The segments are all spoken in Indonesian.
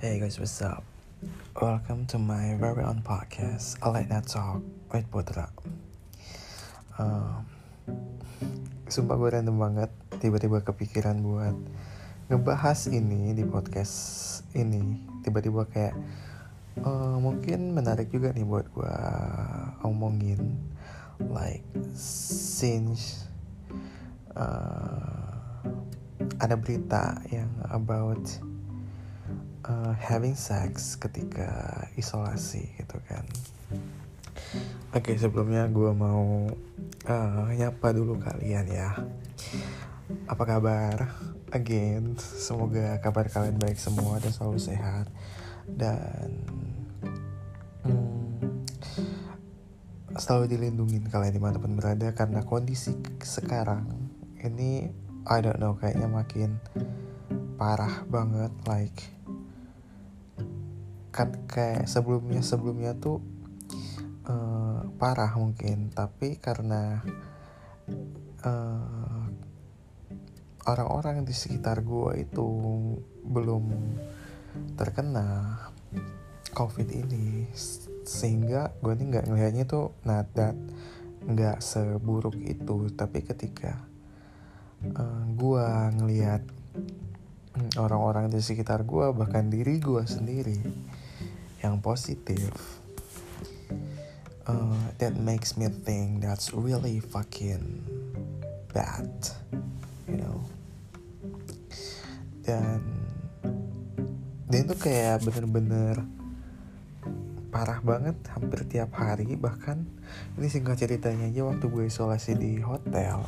Hey guys, what's up? Welcome to my very own podcast, A Late Night Talk with Putra. Sumpah gue random banget, tiba-tiba kepikiran buat ngebahas ini di podcast ini. Tiba-tiba kayak mungkin menarik juga nih buat gue omongin. Like since ada berita yang about having sex ketika isolasi gitu kan. Oke, sebelumnya gue mau nyapa dulu kalian ya. Apa kabar? Again, semoga kabar kalian baik semua dan selalu sehat. Dan selalu dilindungin kalian dimanapun berada. Karena kondisi sekarang ini I don't know, kayaknya makin parah banget. Like kan kayak sebelumnya tuh parah mungkin, tapi karena orang-orang di sekitar gue itu belum terkena COVID ini, sehingga gue nih nggak ngelihatnya tuh nggak seburuk itu. Tapi ketika gue ngelihat orang-orang di sekitar gue, bahkan diri gue sendiri yang positif, that makes me think that's really fucking bad, you know. Dan itu kayak bener-bener parah banget hampir tiap hari. Bahkan ini singkat ceritanya aja, waktu gue isolasi di hotel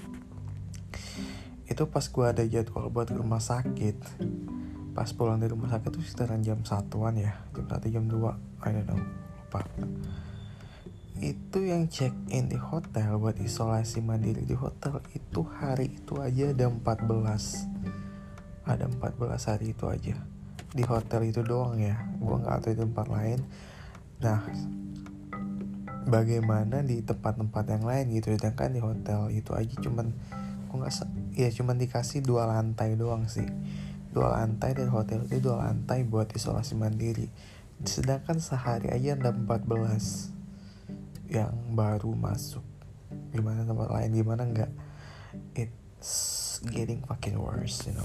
itu pas gue ada jadwal buat ke rumah sakit, pas pulang dari rumah sakit tuh sekitaran jam 1-an ya, jam 1 jam 2 I don't know, lupa. Itu yang check in di hotel buat isolasi mandiri di hotel itu hari itu aja ada 14 hari itu aja di hotel itu doang ya. Gue nggak tahu di tempat lain. Nah, bagaimana di tempat-tempat yang lain gitu. Sedangkan di hotel itu aja cuman dikasih 2 lantai doang sih. 2 lantai, dan hotel itu 2 lantai buat isolasi mandiri. Sedangkan sehari aja ada 14 yang baru masuk. Gimana tempat lain, gimana enggak. It's getting fucking worse, you know.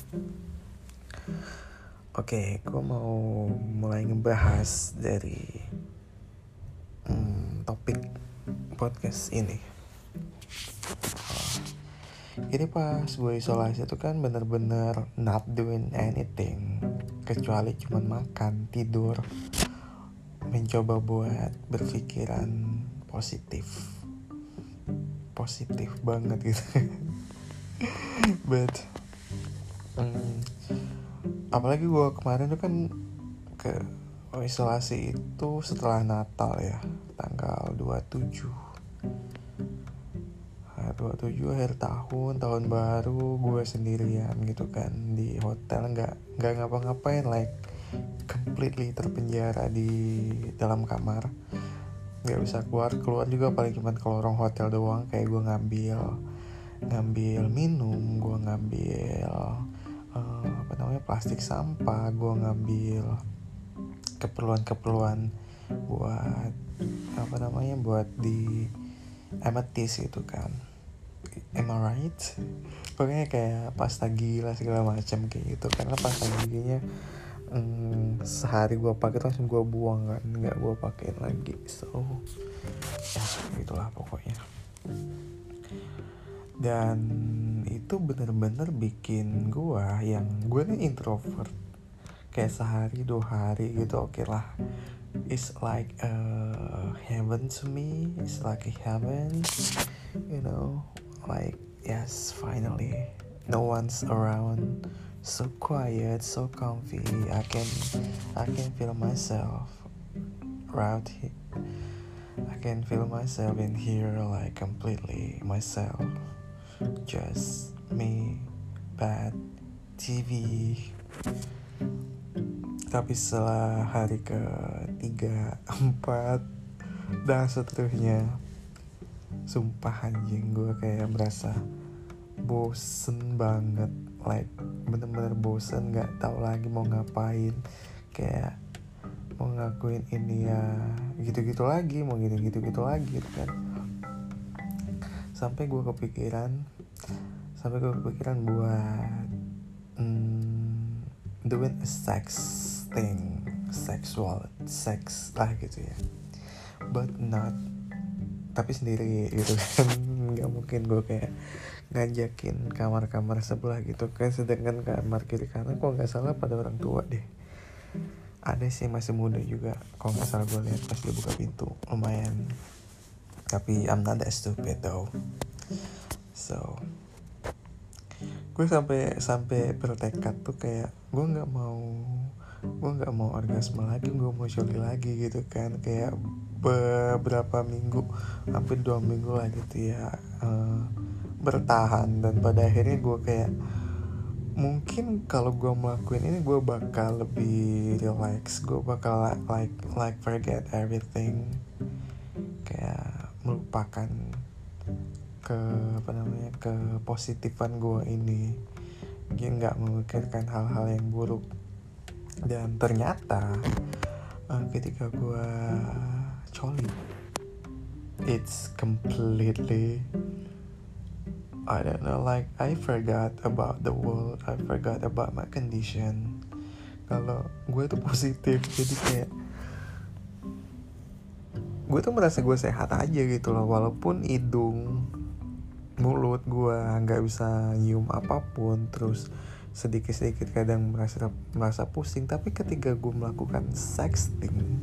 Oke, gue mau mulai ngebahas dari topik podcast ini. Jadi pas gue isolasi itu kan bener-bener not doing anything kecuali cuman makan, tidur, mencoba buat berpikiran positif banget gitu. But apalagi gue kemarin tuh kan ke isolasi itu setelah Natal ya, tanggal 27 akhir tahun baru, gue sendirian gitu kan di hotel, nggak ngapa-ngapain, like completely terpenjara di dalam kamar, nggak bisa keluar juga, paling cuma ke lorong hotel doang. Kayak gue ngambil minum, gue ngambil plastik sampah, gue ngambil keperluan buat di ametis gitu kan. Am I right? Pokoknya kayak pasta gila segala macam kayak gitu. Karena pasta giginya sehari gue pakai langsung gue buang kan, nggak gue pakai lagi. So ya gitulah pokoknya. Dan itu bener-bener bikin gue nih introvert, kayak sehari 2 hari gitu oke lah. It's like a heaven to me. It's like a heaven, you know. Like yes, finally no one's around, so quiet, so comfy. I can feel myself right here. I can feel myself in here, like completely myself, just me, bed, TV. Tapi setelah hari ke-3, 4 dan seterusnya, sumpah anjing, gue kayak merasa bosen banget, like bener-bener bosen, nggak tahu lagi mau ngapain, kayak mau ngakuin ini ya gitu-gitu lagi, mau gitu-gitu lagi gitu kan. Sampai gue kepikiran buat doing a sexual sex lah gitu ya, but not, tapi sendiri gitu kan. Nggak mungkin gue kayak ngajakin kamar sebelah gitu kan, sedangkan kamar kiri kanan kok nggak salah pada orang tua deh. Ada sih masih muda juga, kalau nggak salah gue lihat pas dia buka pintu, lumayan. Tapi I'm not that stupid though. So gue sampai bertekad tuh kayak gue nggak mau orgasme lagi, gue mau coli lagi gitu kan. Kayak beberapa minggu, hampir 2 minggu lah gitu ya, bertahan. Dan pada akhirnya gue kayak, mungkin kalau gue melakukan ini gue bakal lebih relax, gue bakal like forget everything, kayak melupakan kepositifan gue ini, dia nggak memikirkan hal-hal yang buruk. Dan ternyata ketika gue coli, it's completely, I don't know, like I forgot about the world, I forgot about my condition. Kalau gue tuh positif, jadi kayak gue tuh merasa gue sehat aja gitu loh, walaupun hidung, mulut gue nggak bisa nyium apapun, terus sedikit kadang merasa pusing. Tapi ketika gue melakukan sexting,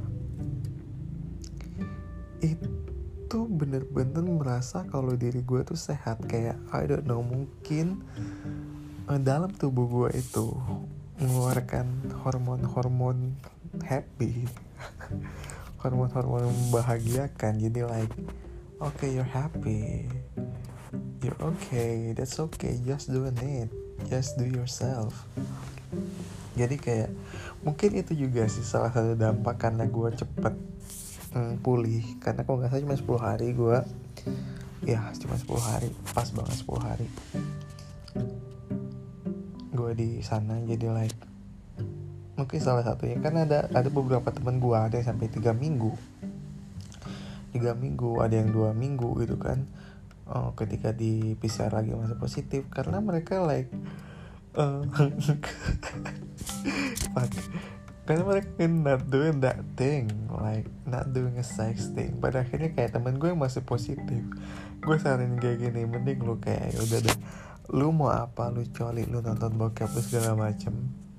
itu bener-bener merasa kalau diri gue tuh sehat. Kayak I don't know, mungkin dalam tubuh gue itu mengeluarkan hormon happy, hormon membahagiakan. Jadi like, okay, you're happy, you're okay, that's okay, just doing it, just do yourself. Jadi kayak mungkin itu juga sih salah satu dampak karena gue cepet pulih. Karena kalau gak salah cuma 10 hari gue, ya cuma 10 hari, pas banget 10 hari gue di sana. Jadi like, mungkin salah satunya kan ada beberapa teman gue, ada yang sampai 3 minggu, ada yang 2 minggu gitu kan. Ketika di PCR lagi masih positif, karena mereka like fuck, karena mereka not doing that thing, like not doing a sex thing. Pada akhirnya kayak temen gue yang masih positif, gue saranin kayak gini, mending lu kayak udah deh, lu mau apa, lu coli, lu nonton bokep, lu segala macem,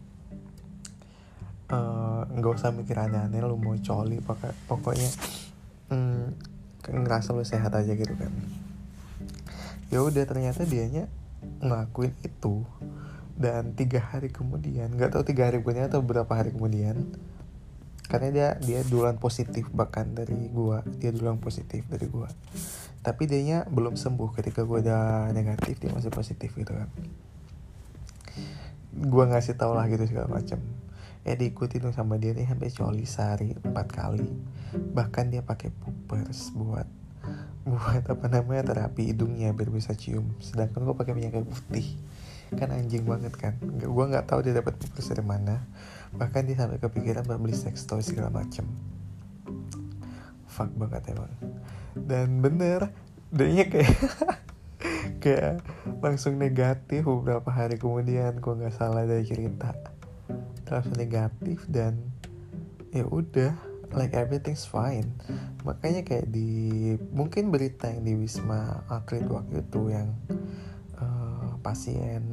nggak usah mikir aneh-aneh. Lu mau coli pokoknya ngerasa lu sehat aja gitu kan. Ya udah, ternyata dianya ngelakuin itu. Dan 3 hari kemudian, nggak tahu 3 hari kemudian atau berapa hari kemudian, karena dia duluan positif bahkan dari gua, tapi dianya belum sembuh. Ketika gua udah negatif, dia masih positif gitu kan. Gua ngasih tau lah gitu segala macam. Diikuti dong sama dia nih, sampai coli sehari 4 kali. Bahkan dia pakai puppers buat terapi hidungnya biar bisa cium. Sedangkan gua pakai minyak putih, kan anjing banget kan. Gue nggak tahu dia dapat puppers dari mana. Bahkan dia sampai kepikiran buat beli sex toy segala macem. Fuck banget emang. Dan bener, dia kayak langsung negatif beberapa hari kemudian, kok nggak salah dari cerita, langsung negatif. Dan ya udah, like everything's fine. Makanya kayak di mungkin berita yang di Wisma Atlet waktu itu yang pasien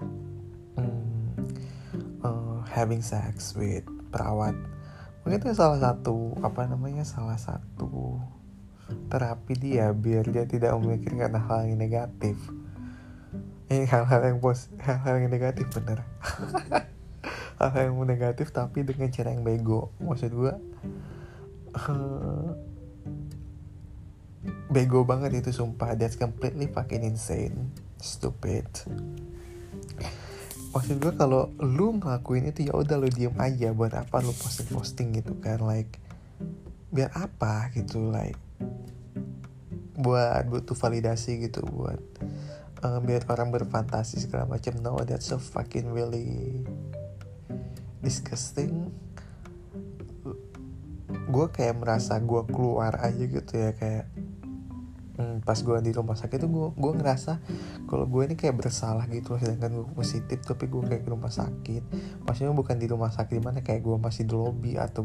having sex with perawat, mungkin itu salah satu terapi dia biar dia tidak memikirkan hal yang negatif. Hal-hal yang negatif bener. Hal-hal yang negatif tapi dengan cara yang bego. Maksud gue bego banget itu, sumpah. That's completely fucking insane, stupid. Maksud gue kalau lu ngelakuin itu, ya udah lu diem aja. Buat apa lu posting gitu kan, like biar apa gitu, like buat butuh validasi gitu, buat biar orang berfantasi segala macam. No, that's so fucking really disgusting. Gue kayak merasa gue keluar aja gitu ya, kayak pas gue di rumah sakit tuh gue ngerasa kalau gue ini kayak bersalah gitu loh, sedangkan gue positif tapi gue kayak ke rumah sakit. Maksudnya bukan di rumah sakit mana, kayak gue masih di lobby atau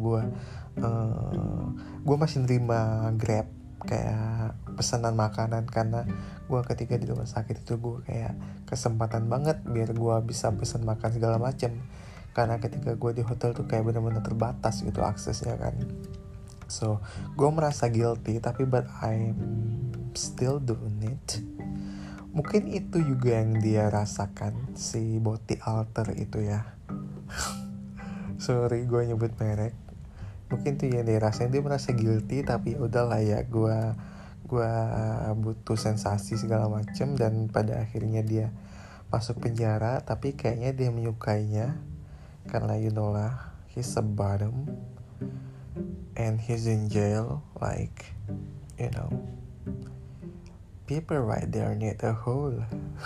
gue masih nerima Grab kayak pesanan makanan, karena gue ketika di rumah sakit itu gue kayak kesempatan banget biar gue bisa pesan makan segala macam, karena ketika gue di hotel tuh kayak benar-benar terbatas gitu aksesnya kan. So gue merasa guilty, tapi but I'm still doing it. Mungkin itu juga yang dia rasakan, si body alter itu ya. Sorry gue nyebut merek. Mungkin itu yang dia rasain, dia merasa guilty, tapi udahlah ya, gue butuh sensasi segala macem, dan pada akhirnya dia masuk penjara. Tapi kayaknya dia menyukainya, karena you know lah, he's a bottom and he's in jail, like, you know, people right there need a hole.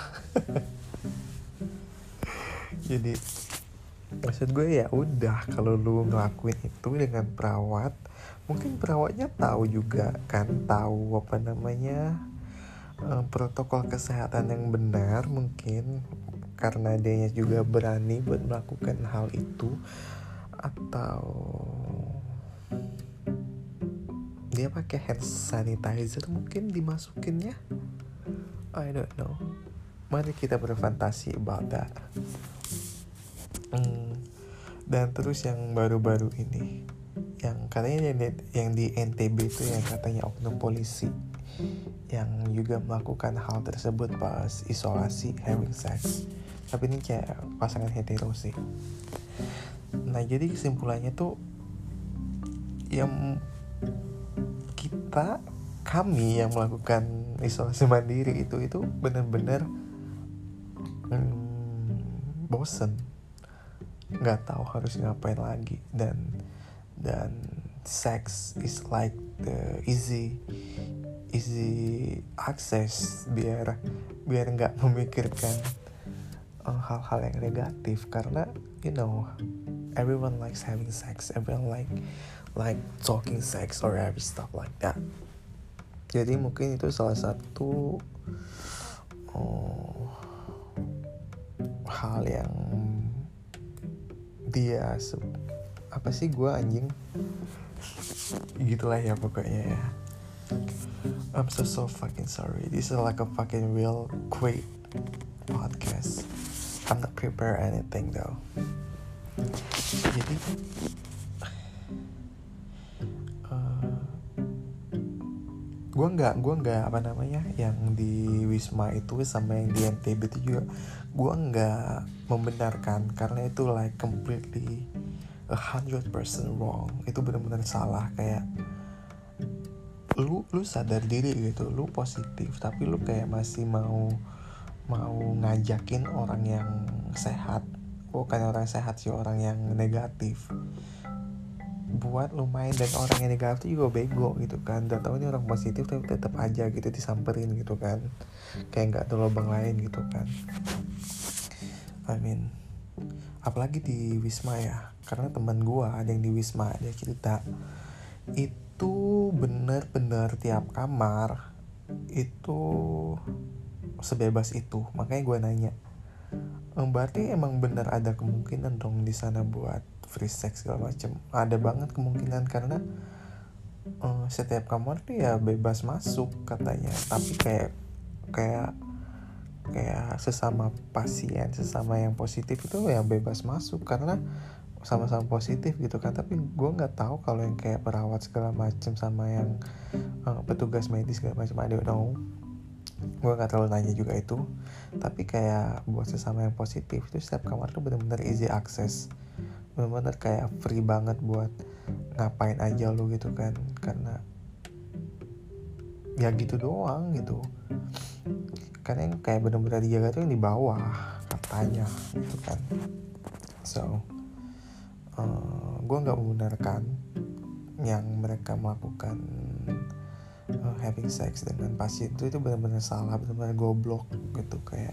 Jadi maksud gue ya udah, kalau lu ngelakuin itu dengan perawat, mungkin perawatnya tahu juga kan, tahu apa namanya, protokol kesehatan yang benar, mungkin karena dia juga berani buat melakukan hal itu, atau dia pakai hand sanitizer mungkin dimasukinnya, I don't know. Mari kita berfantasi about that. Dan terus yang baru-baru ini, yang katanya yang di NTB itu, yang katanya oknum polisi yang juga melakukan hal tersebut pas isolasi, having sex. Tapi ini kayak pasangan hetero sih. Nah jadi kesimpulannya tuh, yang kami yang melakukan isolasi mandiri itu benar-benar bosen, nggak tahu harus ngapain lagi, dan sex is like the easy access biar nggak memikirkan hal-hal yang negatif, karena you know everyone likes having sex, everyone like talking sex or every stuff like that. Jadi mungkin itu salah satu hal yang dia apa sih, gue anjing gitulah ya pokoknya ya. I'm so fucking sorry. This is like a fucking real quick podcast. I'm not prepare anything though. Jadi gue nggak apa namanya, yang di Wisma itu sama yang di NTB itu juga gue nggak membenarkan, karena itu like completely 100% wrong. Itu benar-benar salah. Kayak lu sadar diri gitu, lu positif tapi lu kayak masih mau ngajakin orang yang sehat, bukan orang sehat sih, orang yang negatif buat lu main, dan orang yang negatif juga bego gitu kan. Udah tahu ini orang positif tapi tetap aja gitu disamperin gitu kan, kayak nggak ada lubang lain gitu kan. I mean, apalagi di Wisma ya, karena teman gua ada yang di Wisma, dia cerita itu bener-bener tiap kamar itu sebebas itu. Makanya gua nanya, berarti emang bener ada kemungkinan dong di sana buat free sex segala macam? Ada banget kemungkinan, karena setiap kamar tuh ya bebas masuk katanya. Tapi kayak sesama pasien, sesama yang positif itu ya bebas masuk karena sama-sama positif gitu kan. Tapi gue nggak tahu kalau yang kayak perawat segala macam sama yang petugas medis segala macam, I don't know. Gue nggak terlalu nanya juga itu. Tapi kayak buat sesama yang positif itu setiap kamar tuh benar-benar easy access, benar-benar kayak free banget buat ngapain aja lu gitu kan, karena ya gitu doang gitu. Karena yang kayak benar-benar dijaga tuh yang di bawah katanya gitu kan. So gue nggak membenarkan yang mereka melakukan having sex dengan pasien itu benar-benar salah, benar-benar goblok gitu. Kayak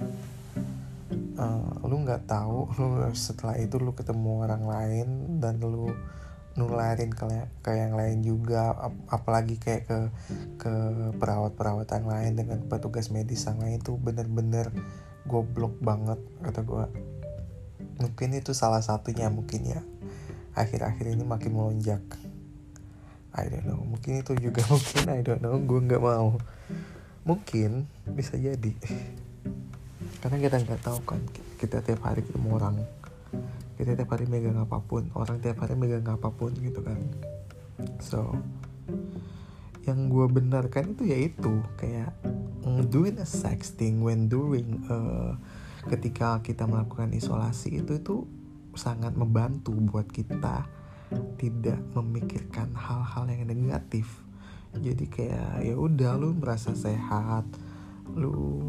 lu nggak tahu, lu setelah itu lu ketemu orang lain dan lu nularin ke yang lain juga, apalagi kayak ke perawat-perawat yang lain dengan petugas medis yang lain. Itu bener-bener goblok banget kata gue. Mungkin itu salah satunya, mungkin ya akhir-akhir ini makin melonjak. I don't know, mungkin itu juga mungkin, I don't know, gue nggak mau, mungkin bisa jadi karena kita nggak tahu kan, kita tiap hari ketemu orang, kita tiap hari megang apapun, orang tiap hari megang apapun gitu kan. So yang gue benarkan itu yaitu kayak doing a sexting when during ketika kita melakukan isolasi itu sangat membantu buat kita tidak memikirkan hal-hal yang negatif. Jadi kayak ya udah, lu merasa sehat, lu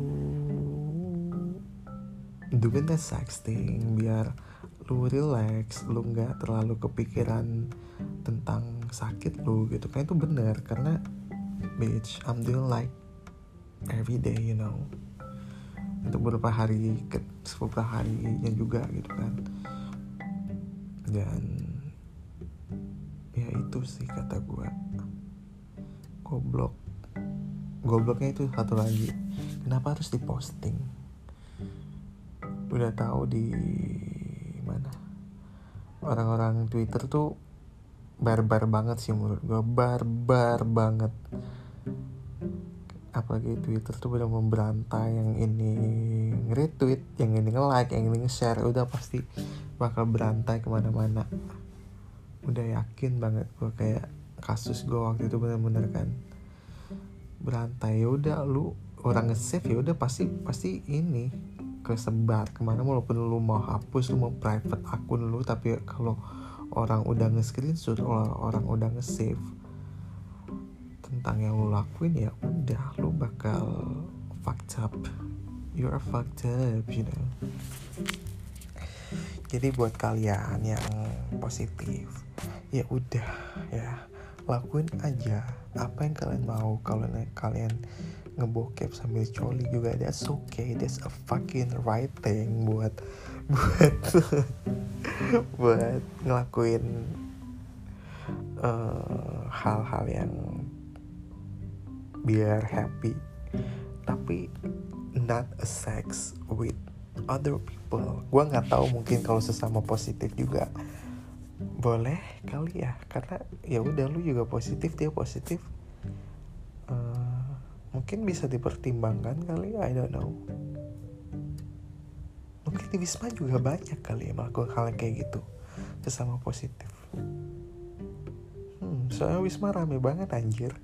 doing the sexting biar lu relax, lu nggak terlalu kepikiran tentang sakit lu gitu kan. Itu benar karena bitch, I'm doing like every day, you know, untuk beberapa harinya juga gitu kan. Dan ya itu sih kata gue, gobloknya itu satu lagi, kenapa harus diposting? Udah tahu di mana orang-orang Twitter tuh barbar banget sih menurut gue, barbar banget. Apalagi Twitter tuh benar memberantai, yang ini nge-retweet, yang ini nge-like, yang ini nge-share, udah pasti bakal berantai kemana-mana. Udah yakin banget gue, kayak kasus gue waktu itu bener-bener kan berantai. Ya udah, lu orang nge-save ya udah pasti ini kesebar kemana, walaupun lu mau hapus, lu mau private akun lu, tapi kalau orang udah nge-screenshot, orang udah nge-save tentang yang lu lakuin, ya udah lu bakal fucked up. You're fucked up, you know. Jadi buat kalian yang positif, ya udah ya, lakuin aja apa yang kalian mau. Kalau kalian ngebokep sambil coli juga, that's okay, that's a fucking right thing buat buat ngelakuin hal-hal yang biar happy, tapi not a sex with other people. Gue nggak tahu, mungkin kalau sesama positif juga boleh kali ya, karena ya udah, lu juga positif, dia positif, mungkin bisa dipertimbangkan kali, I don't know. Mungkin di Wisma juga banyak kali ya melakukan hal yang kayak gitu sesama positif. Soalnya Wisma rame banget anjir.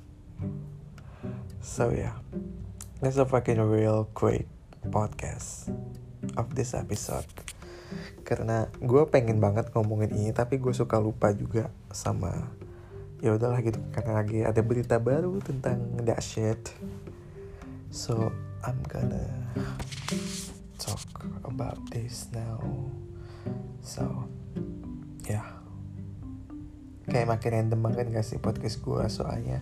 So yeah, that's a fucking real quick podcast of this episode. Karena gue pengen banget ngomongin ini, tapi gue suka lupa juga sama, ya udahlah gitu, karena lagi ada berita baru tentang that shit. So I'm gonna talk about this now. So yeah, kayak makin random banget gak sih podcast gue, soalnya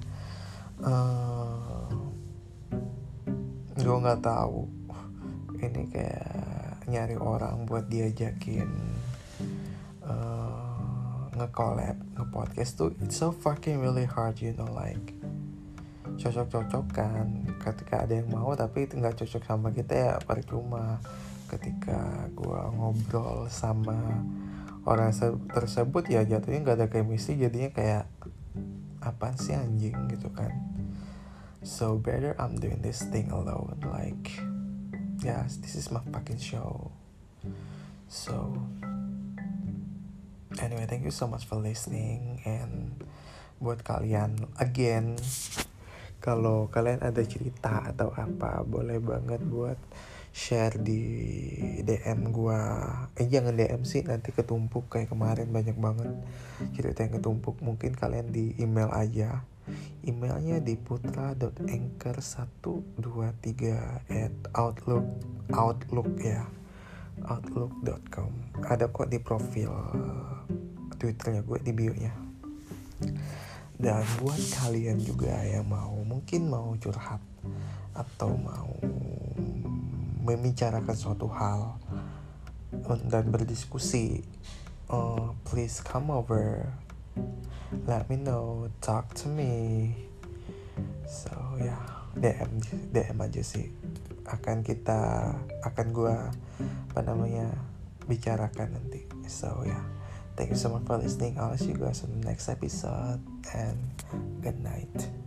gue nggak tahu ini kayak nyari orang buat diajakin nge-collab, nge-podcast tuh it's so fucking really hard, you know, like cocok-cocokan. Ketika ada yang mau tapi itu nggak cocok sama kita, ya percuma. Ketika gue ngobrol sama orang tersebut, ya jatuhnya nggak ada chemistry, jadinya kayak apaan sih anjing gitu kan. So better I'm doing this thing alone, like yes, this is my fucking show. So anyway, thank you so much for listening. And buat kalian, again, kalau kalian ada cerita atau apa, boleh banget buat share di DM gua. Jangan DM sih, nanti ketumpuk kayak kemarin, banyak banget cerita yang ketumpuk. Mungkin kalian di email aja. Emailnya di putra.anchor123@outlook ya, outlook.com. Ada kok di profil Twitternya gue, di bio nya. Dan buat kalian juga yang mungkin mau curhat atau mau membicarakan suatu hal dan berdiskusi, please come over, let me know, talk to me. So ya, DM aja sih. Akan gua bicarakan nanti. So ya, thank you so much for listening. I'll see you guys in the next episode, and good night.